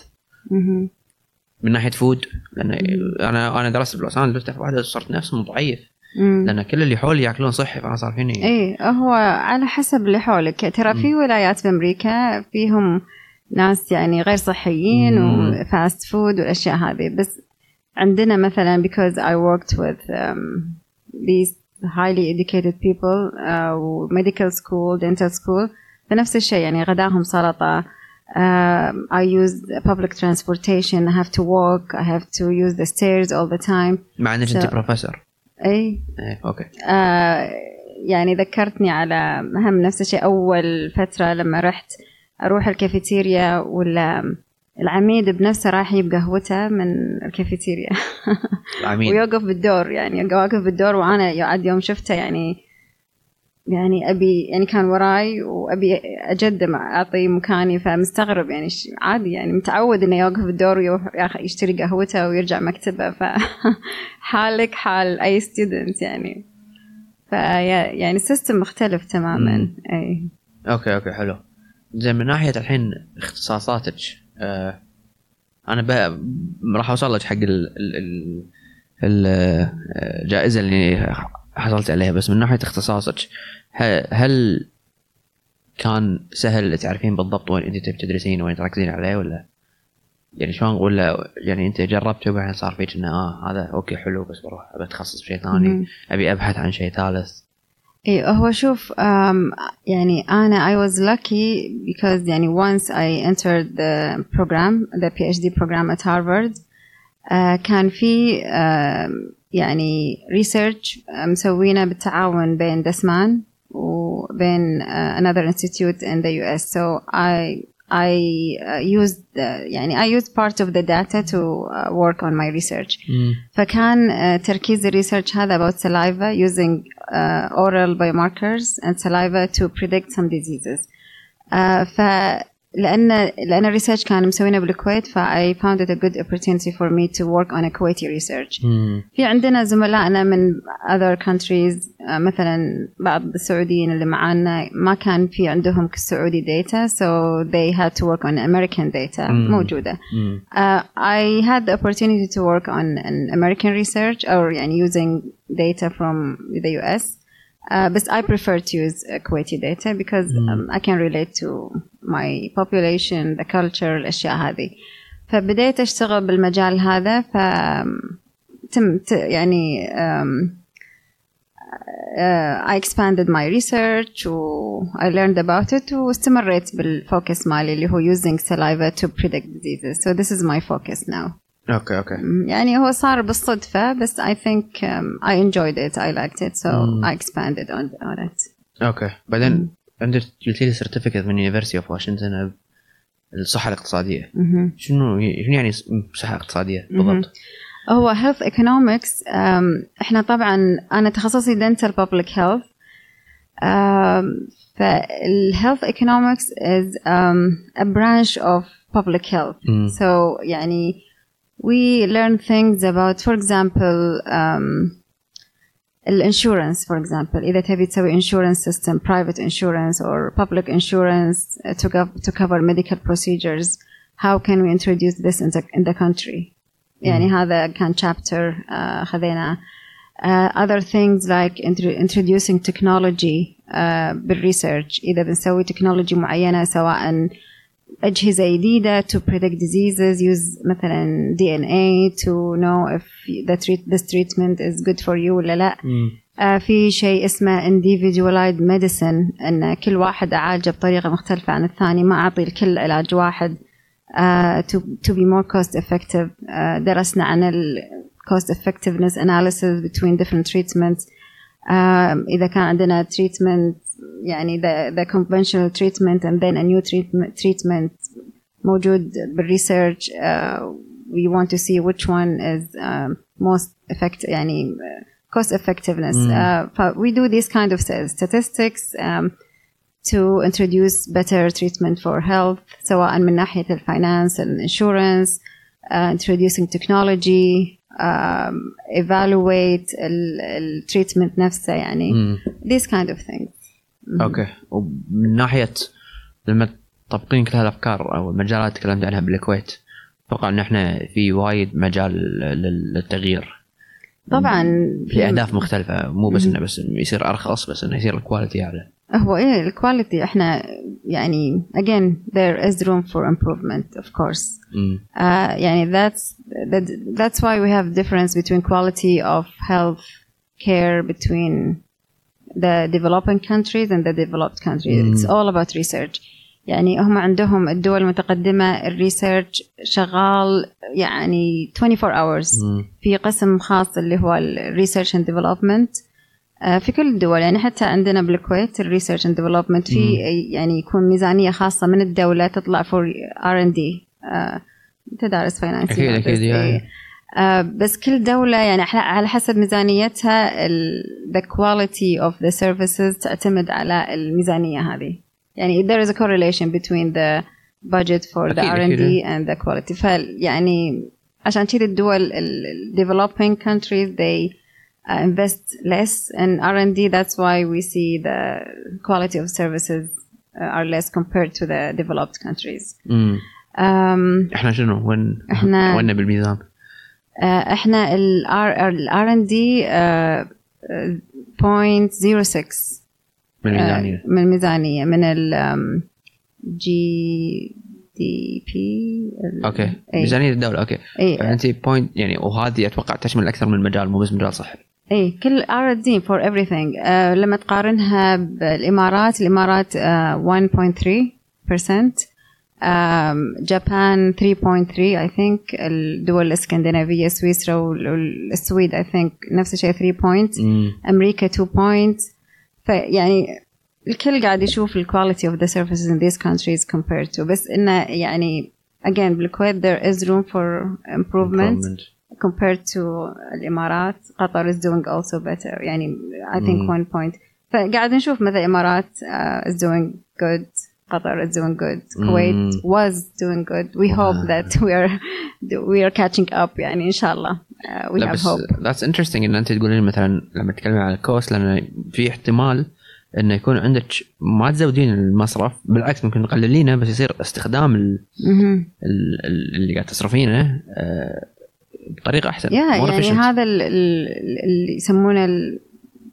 من ناحية فود؟ لأن أنا أنا درست بلوس أنجلوس في واحدة صرت نفس ضعيف لأن كل اللي حولي يأكلون صحي فأنا صار فيني. إيه هو على حسب اللي حولك. ترى في ولايات في أمريكا فيهم ناس يعني غير صحيين وفاست فود والأشياء هذه، بس عندنا مثلا because I worked with um, these highly educated people uh, medical school dental school فنفس الشيء يعني غداهم سلطة. uh, I use public transportation, I have to walk, I have to use the stairs all the time. مع أنك so, أنت بروفيسور. أي إيه أوكي. uh, يعني ذكرتني على هم نفس الشيء أول فترة لما رحت أروح الكافيتيريا ولا العميد بنفسه راح يجيب قهوته من الكافيتيريا ويوقف بالدور يعني واقف بالدور وأنا يعد يوم شفته يعني يعني أبي يعني كان وراي وأبي أجدم أعطي مكاني فمستغرب يعني عادي يعني متعود إنه يوقف بالدور ويروح يشتري قهوته ويرجع مكتبه فحالك حال أي student يعني في يعني سيستم مختلف تماما. أي أوكي أوكي حلو. زين من ناحية الحين اختصاصاتك آه أنا بقى راح أوصل لك حق الجائزة اللي حصلت عليها، بس من ناحية اختصاصك هل كان سهل تعرفين بالضبط وين أنت تدرسين وين تركزين عليه ولا يعني شلون، ولا يعني أنت جربت وبعدين صار فيك إنه آه هذا أوكي حلو بس بروح أبي أتخصص بشيء ثاني أبي أبحث عن شيء ثالث؟ إيه هو شوف um, يعني أنا I was lucky because يعني once I entered the program the PhD program at Harvard uh, كان في uh, يعني research مسوينا بالتعاون بين دسمان وبين uh, another institute in the U S so I I uh, used uh, يعني I used part of the data to uh, work on my research. mm. فكان uh, تركيز الريسيرش هذا about saliva using uh, oral biomarkers and saliva to predict some diseases. uh, فلأن لأن الريسيرش كان مسوينه بالكويت ف I found it a good opportunity for me to work on a Kuwaiti research. mm. في عندنا زملائنا من other countries uh, مثلا بعض السعوديين اللي معانا ما كان في عندهم كسعودي data so they had to work on American data. mm. موجودة. mm. uh, I had the opportunity to work on an American research or يعني using data from the U S Uh, but I prefer to use uh, Kuwaiti data because Mm. um, I can relate to my population, the culture, الأشياء هذه. فبديت أشتغل بالمجال هذا ف تم ت- يعني um, uh, I expanded my research و I learned about it واستمريت بالفوكس مالي اللي هو using saliva to predict diseases. So this is my focus now. اوكي اوكي. يعني هو صار بالصدفة بس I think um, I enjoyed it, I liked it, so Mm. I expanded on, on it. اوكي بعدين عندك قلت لي سيرتيفيكت من يونيفرسيتي اوف واشنطن الصحة الاقتصادية. مهم. شنو شنو يعني صحة اقتصادية بالضبط؟ هو health economics um, احنا طبعا انا تخصصي dental public health. um, فال health economics is um, a branch of public health. Mm. So يعني we learn things about, for example um, الانشورنس for example إذا تبي تسوي insurance system, private insurance or public insurance uh, to, gov- to cover medical procedures, how can we introduce this in the, in the country. يعني هذا كان chapter uh, خذينا. uh, other things like intro- introducing technology uh, بالresearch إذا بنسوي technology معينة سواء أجهزة جديدة to predict diseases, use مثلا D N A to know if the treat this treatment is good for you ولا لا. Mm. آه في شيء اسمه individualized medicine أن كل واحد أعالجه بطريقة مختلفة عن الثاني ما أعطي الكل علاج واحد. uh, to to be more cost effective. uh, درسنا عن ال cost effectiveness analysis between different treatments. uh, إذا كان عندنا treatment يعني the, the conventional treatment and then a new treatment, treatment موجود بالresearch, uh, we want to see which one is um, most effective يعني cost effectiveness. Mm. uh, we do these kind of statistics um, to introduce better treatment for health سواء من ناحية الفاينانس الانشورنس, uh, introducing technology, um, evaluate ال treatment نفسه يعني Mm. these kind of things. اوكي. ومن ناحيه لما تطبقين كل هالافكار او المجالات تكلمت عنها بالكويت اتوقع ان احنا في وايد مجال لل- للتغيير طبعا في اهداف مختلفه, مو بس انه بس يصير ارخص, بس انه يصير الكواليتي اعلى. هو ايه الكواليتي احنا يعني again there is room for improvement of course. Mm. uh, يعني that's that, that's why we have difference between quality of health care between the developing countries and the developed countries. Mm. It's all about research. يعني هم عندهم الدول المتقدمة الريسيرش شغال يعني twenty-four hours. Mm. في قسم خاص اللي هو الريسيرش اند ديفلوبمنت في كل الدول. يعني حتى عندنا بالكويت الريسيرش اند ديفلوبمنت في يعني يكون ميزانية خاصة من الدولة تطلع for آر إند دي. انت دارس فاينانس اكيد اكيد يعني. آه بس كل دولة يعني على حسب ميزانيتها ال the quality of the services تعتمد على الميزانية هذه. يعني there is a correlation between the budget for the آر إند دي and the quality. فيعني عشان كذا الدول ال developing countries they uh, invest less in آر إند دي. That's why we see the quality of services uh, are less compared to the developed countries. Mm. um, احنا شنو وين احنا وين بالميزان؟ احنا ال آر إند دي point zero six من الميزانية. من الميزانية من ال جي دي بي. اوكي ميزانية الدولة. اوكي اي فانت بوينت يعني, وهذه اتوقع تشمل اكثر من مجال مو بس مجال صحي. اي كل آر إند دي for everything. uh, لما تقارنها بالامارات الامارات uh, one point three percent, جابان three point three I think, الدول الاسكندنافية سويسرا والسويد I think نفس الشيء three point, mm. أمريكا two point. فيعني الكل قاعد يشوف ال quality of the services in these countries compared to, بس إنه يعني again بالكويت there is room for improvement, improvement. compared to الإمارات. قطر is doing also better يعني I think mm. one point. فقاعد نشوف مثلا الإمارات uh, is doing good, Qatar is doing good, Kuwait mm. was doing good. We wow. hope that we are we are catching up يعني إن شاء الله. uh, we have hope. That's interesting إن أنت تقولين مثلا لما تتكلمي عن الكوست, لأن في احتمال إنه يكون عندك ما تزودين المصرف, بالعكس ممكن تقللينه, بس يصير استخدام ال mm-hmm. اللي قاعد تصرفينه بطريقة أحسن. yeah, يعني efficient. هذا اللي يسمونه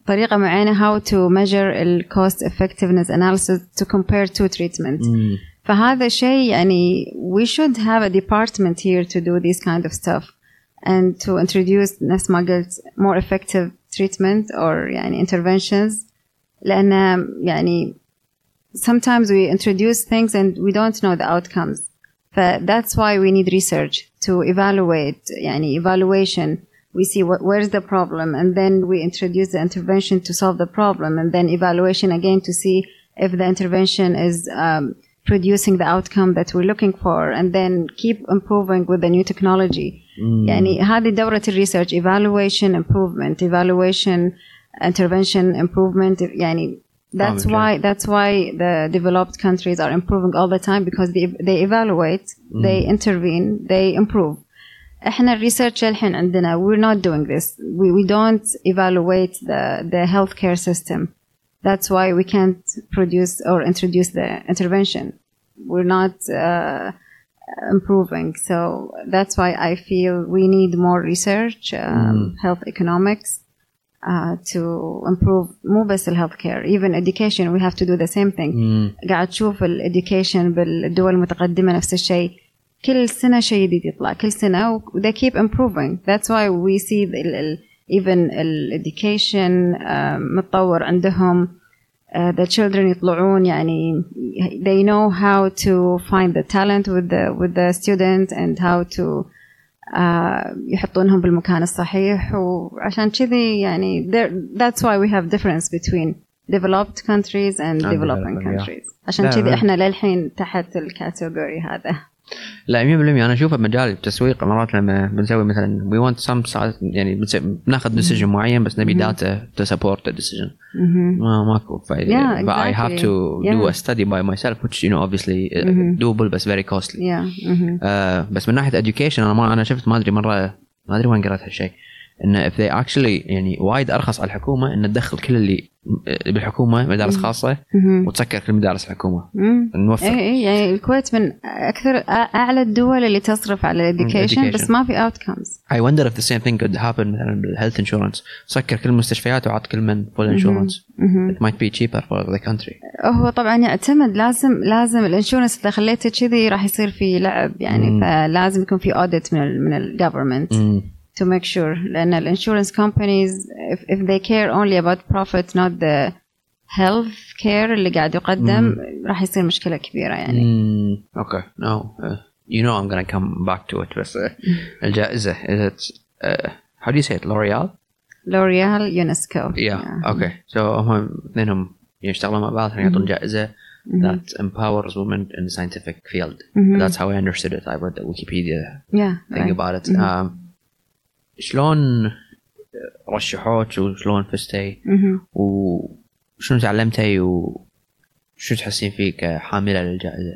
طريقة معينة how to measure ال cost effectiveness analysis to compare two treatments. Mm. فهذا شيء يعني we should have a department here to do this kind of stuff and to introduce نفس ما قلت more effective treatment or يعني interventions لأن يعني sometimes we introduce things and we don't know the outcomes. But that's why we need research to evaluate يعني evaluation. We see what, where's the problem and then we introduce the intervention to solve the problem and then evaluation again to see if the intervention is um, producing the outcome that we're looking for and then keep improving with the new technology. Mm. يعني هذه دورة الريسيرش evaluation improvement evaluation intervention improvement يعني that's oh, why that's why the developed countries are improving all the time because they they evaluate mm. they intervene they improve. احنا الريسيرش الحين عندنا we're not doing this we we don't evaluate the the healthcare system. That's why we can't produce or introduce the intervention. We're not uh, improving. So that's why I feel we need more research, um, mm. health economics, uh, to improve مو بس ال healthcare. Even education, we have to do the same thing. Mm. قاعد تشوف ال education بالدول المتقدمة نفس الشيء. كل سنة شيء جديد يطلع كل سنة و they keep improving. That's why we see the, ال even ال education uh, متطور عندهم. Uh, the children يطلعون يعني they know how to find the talent with the with the student and how to uh, يحطونهم بالمكان الصحيح وعشان كذي يعني that's why we have difference between developed countries and developing countries. عشان كذي احنا للحين تحت الكاتيجوري هذا. لا مية بالمية أنا أشوفه مجال التسويق مرات لما بنسوي مثلا we want some يعني بناخذ decision معين بس نبي data to support the decision ما ماكو فايدة. Yeah, but I have to yeah. do a study by myself which you know obviously mm-hmm. doable بس very costly. yeah. mm-hmm. uh, بس من ناحية education أنا ما أنا شفت ما أدري مرة ما أدري وين قرأت هالشيء إن if they actually يعني وايد أرخص على الحكومة إن تدخل كل اللي بالحكومة مدارس خاصة وتسكر كل مدارس الحكومة نوفر. إيه إيه يعني الكويت من أكثر أعلى الدول اللي تصرف على education بس ما في outcomes. I wonder if the same thing could happen مثلا بالhealth insurance سكر كل المستشفيات وعط كل من full insurance. It might be cheaper for the country. هو طبعا يعتمد لازم لازم الانشورنس إذا خليته كذي راح يصير في لعب يعني مم. فلازم يكون في audit من ال من ال government. مم. to make sure لأن ال insurance companies if, if they care only about profit not the health care اللي قاعد يقدم mm. راح يصير مشكلة كبيرة يعني. mm. okay no uh, you know I'm gonna come back to it بس uh, الجائزة is it uh, how do you say it L'Oreal L'Oreal UNESCO yeah, yeah. okay so هم اثنينهم يشتغلوا مع بعض يعطون جائزة mm-hmm. that empowers women in the scientific field. mm-hmm. That's how I understood it. I read the Wikipedia yeah, thing right. about it. mm-hmm. um, شلون رشحوك وشلون فزتي وشنو تعلمتي وشو تحسين فيه كحاملة للجائزة؟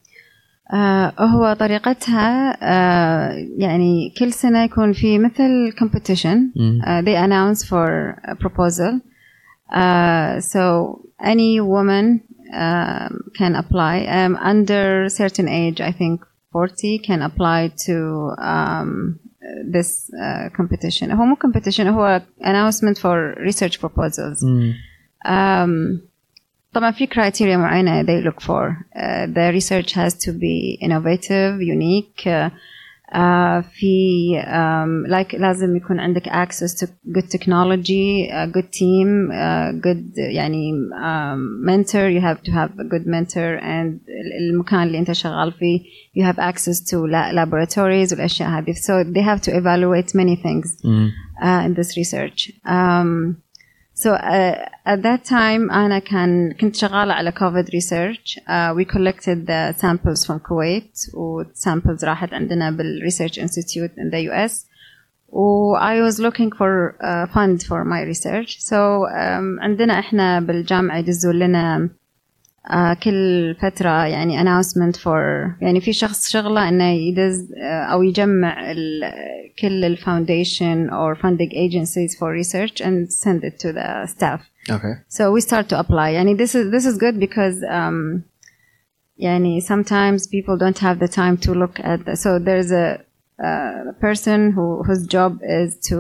آه هو طريقتها آه يعني كل سنة يكون في مثل competition uh, they announce for a proposal uh, so any woman uh, can apply um, under certain age I think forty can apply to um, this uh, competition. هو مو competition هو announcement for research proposals. Mm. Um, طبعا في criteria معينة they look for. Uh, the research has to be innovative, unique. Uh, uh, في um, like لازم يكون عندك access to good technology, a good team, a good يعني um, mentor. You have to have a good mentor and المكان اللي أنت شغال فيه you have access to laboratories والأشياء هذه. So they have to evaluate many things mm. uh, in this research. Um, so uh, at that time أنا كان كنت شغالة على COVID research. Uh, we collected the samples from Kuwait و samples راحت عندنا بال Research Institute in the U S. و I was looking for a fund for my research. So um, عندنا إحنا بالجامعة يدزوا لنا Uh, كل فترة يعني announcement for يعني في شخص شغله إنه يدز uh, أو يجمع ال, كل ال foundation or funding agencies for research and send it to the staff. Okay. So we start to apply. يعني this is this is good because um, يعني sometimes people don't have the time to look at the, so there's a, a person who whose job is to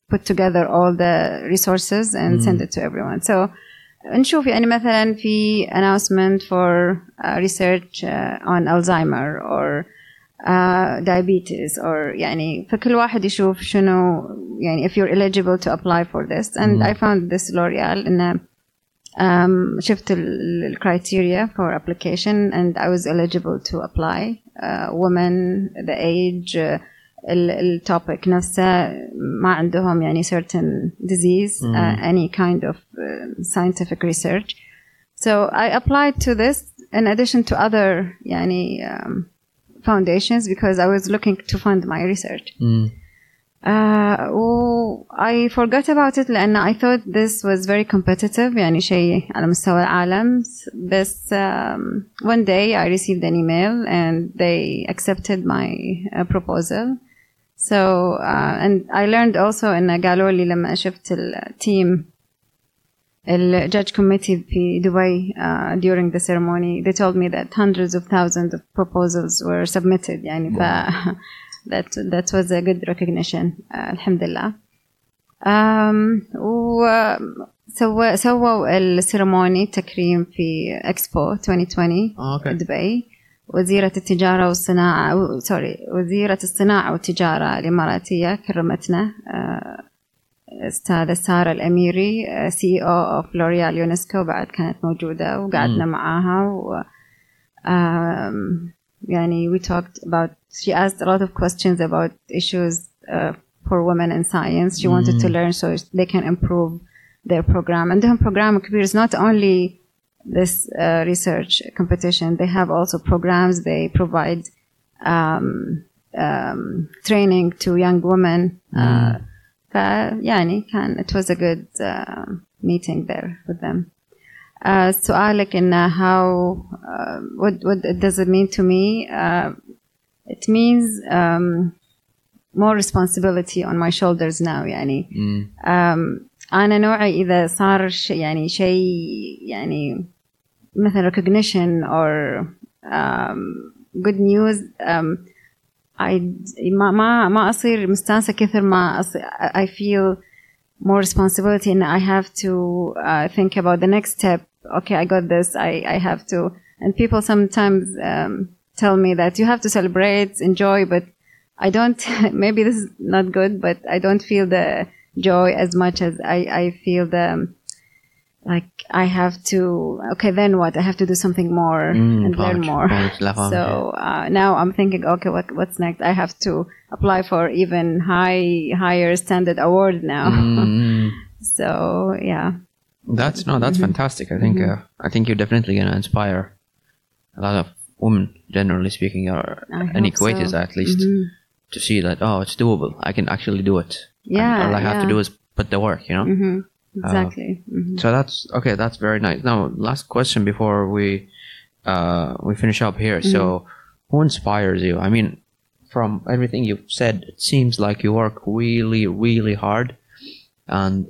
put together all the resources and mm. send it to everyone. So نشوف يعني مثلا في announcement for uh, research uh, on Alzheimer or uh, diabetes or يعني فكل واحد يشوف شنو يعني if you're eligible to apply for this. And mm. I found this L'Oreal إن um, شفت ال criteria for application and I was eligible to apply. Uh, women, the age, uh, ال topic نفسه ما عندهم يعني certain disease, mm. uh, any kind of uh, scientific research. So I applied to this in addition to other يعني um, foundations because I was looking to fund my research. Mm. Uh, I forgot about it لأن I thought this was very competitive يعني شيء على مستوى العالم. بس um, one day I received an email and they accepted my uh, proposal. So uh, and I learned also إن قالوا لي لما شفت التيم ال judge committee في دبي uh, during the ceremony they told me that hundreds of thousands of proposals were submitted يعني ف that that was a good recognition uh, alhamdulillah. Um, وسووا سووا السيرموني تكريم في إكسبو twenty twenty oh, okay. دبي. وزيرة التجارة والصناعة سوري وزيرة الصناعة والتجارة الإماراتية كرمتنا أستاذة سارة الأميري سي أو of L'Oreal يونسكو بعد كانت موجودة وقعدنا mm. معاها و um, يعني we talked about she asked a lot of questions about issues uh, for women in science. She mm. wanted to learn so they can improve their program. And the program is not only this uh, research competition. They have also programs. They provide um, um, training to young women. Mm. Uh, يعني كان it was a good uh, meeting there with them. Uh, سؤالك إن how uh, what what does it mean to me? Uh, it means um, more responsibility on my shoulders now يعني. Mm. Um, أنا نوعي إذا صار ش يعني شيء يعني مثلا recognition or um, good news um, I ما ما ما أصير مستانسة كثر ما أصير I feel more responsibility and I have to uh, think about the next step. Okay, I got this. I I have to. And people sometimes um, tell me that you have to celebrate, enjoy, but I don't. Maybe this is not good, but I don't feel the joy as much as I I feel the like I have to. Okay, then what? I have to do something more mm, and learn more. So uh, now I'm thinking, okay, what what's next? I have to apply for even high higher standard award now. Mm. So yeah. That's no, that's mm-hmm. fantastic. I think mm-hmm. uh, I think you're definitely going to inspire a lot of women, generally speaking, or any Kuwaitis so. At least, mm-hmm. to see that oh, it's doable. I can actually do it. Yeah, and all I yeah. have to do is put the work. You know. Mm-hmm. Exactly. Uh, mm-hmm. So that's okay. That's very nice. Now, last question before we uh, we finish up here. Mm-hmm. So, who inspires you? I mean, from everything you've said, it seems like you work really, really hard, and.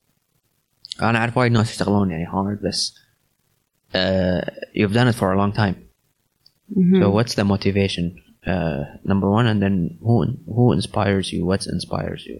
أنا أعرف وايد ناس يشتغلون يعني hard بس uh, you've done it for a long time. Mm-hmm. So what's the motivation uh, number one and then who who inspires you? What inspires you?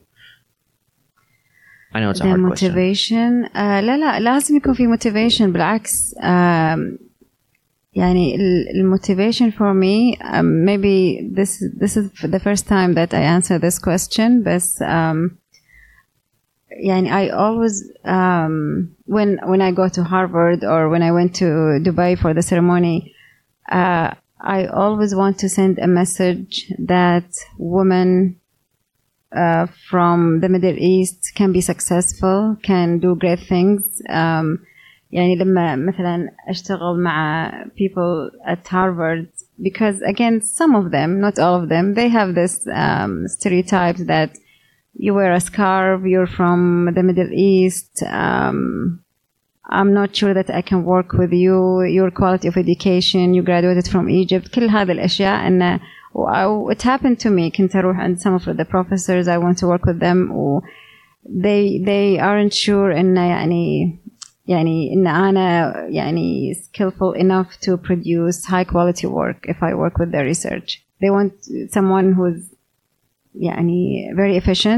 I know it's a the hard motivation question. uh, لا لا لازم يكون في motivation بالعكس um, يعني ال motivation for me um, maybe this this is the first time that I answer this question بس um, يعني I always um, when when I go to Harvard or when I went to Dubai for the ceremony uh, I always want to send a message that women uh, from the Middle East can be successful, can do great things. um, يعني لما مثلا أشتغل مع people at Harvard because again some of them, not all of them, they have this um, stereotype that you wear a scarf, you're from the Middle East, um, I'm not sure that I can work with you, your quality of education, you graduated from Egypt, كل هذه الأشياء. and uh, it happened to me. كنت أروح عند some of the professors, I want to work with them, و they they aren't sure إن يعني يعني إن أنا يعني skillful enough to produce high quality work if I work with their research. They want someone who's يعني very efficient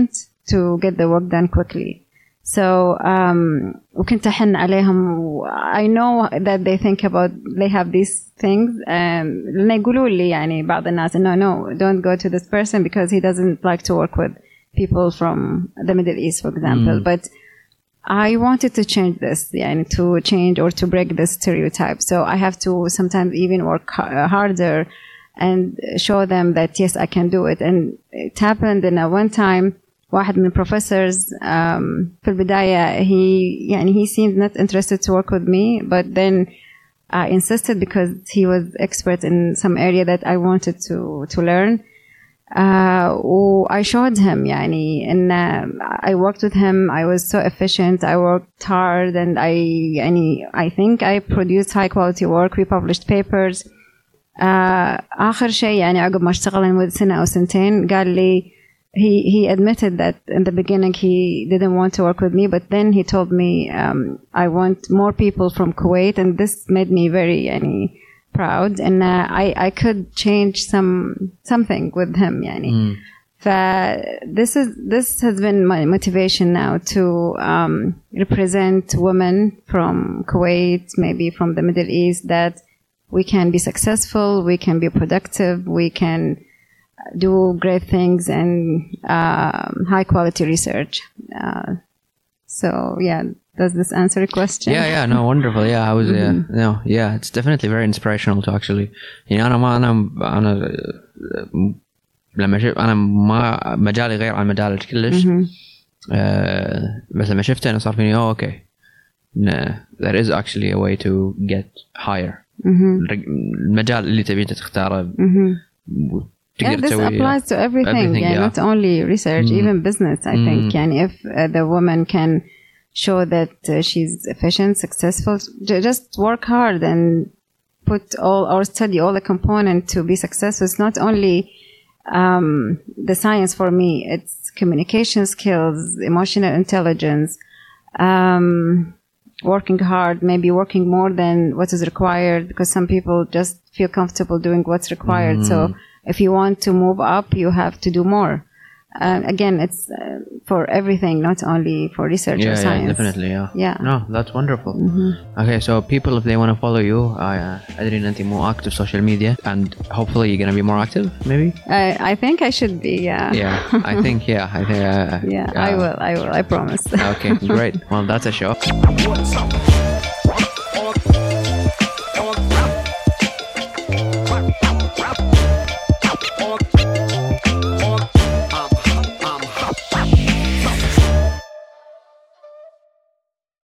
to get the work done quickly. So um, وكنت أحن عليهم. I know that they think about they have these things. Um, لأن يقولوا لي يعني بعض الناس no no don't go to this person because he doesn't like to work with people from the Middle East, for example. Mm. But I wanted to change this, يعني to change or to break this stereotype. So I have to sometimes even work harder and show them that yes I can do it. And it happened in a one time. واحد من professors um, في البداية he يعني he seemed not interested to work with me, but then I insisted because he was expert in some area that I wanted to to learn. Uh, I showed him يعني and uh, I worked with him. I was so efficient. I worked hard and I يعني I think I produced high quality work. We published papers. Uh, آخر شيء يعني عقب ما اشتغل لمدة سنة أو سنتين قال لي He he admitted that in the beginning he didn't want to work with me, but then he told me um, I want more people from Kuwait, and this made me very yani, proud, and uh, I I could change some something with him. Yani. Mm. This is this has been my motivation now to um, represent women from Kuwait, maybe from the Middle East, that we can be successful, we can be productive, we can do great things and uh, high quality research. Uh, so yeah, does this answer your question? Yeah, yeah, no, wonderful. Yeah, I was, mm-hmm. uh, no, yeah, it's definitely very inspirational to actually. يعني أنا ما أنا أنا لما شفت أنا ما مجالي غير عن مجالك كلش. Mm-hmm. uh, بس لما شفته أنا صار فيني oh okay, no, there is actually a way to get higher. Mm-hmm. المجال اللي تبي أنت تختاره. Mm-hmm. Yeah, this applies to everything, everything yeah, yeah. Not only research, mm. even business, I mm. think. And if uh, the woman can show that uh, she's efficient, successful, j- just work hard and put all or study all the components to be successful. It's not only um, the science for me, it's communication skills, emotional intelligence, um, working hard, maybe working more than what is required, because some people just feel comfortable doing what's required. Mm. So if you want to move up, you have to do more. Uh, again, it's uh, for everything, not only for research yeah, or science. Yeah, definitely, yeah. Yeah. No, that's wonderful. Mm-hmm. Okay, so people, if they want to follow you, uh, أدري إن أنتي more active social media, and hopefully you're going to be more active, maybe? I, I think I should be, yeah. Yeah, I think, yeah. I think. Uh, yeah, uh, I will, I will, I promise. Okay, great. Well, that's a show.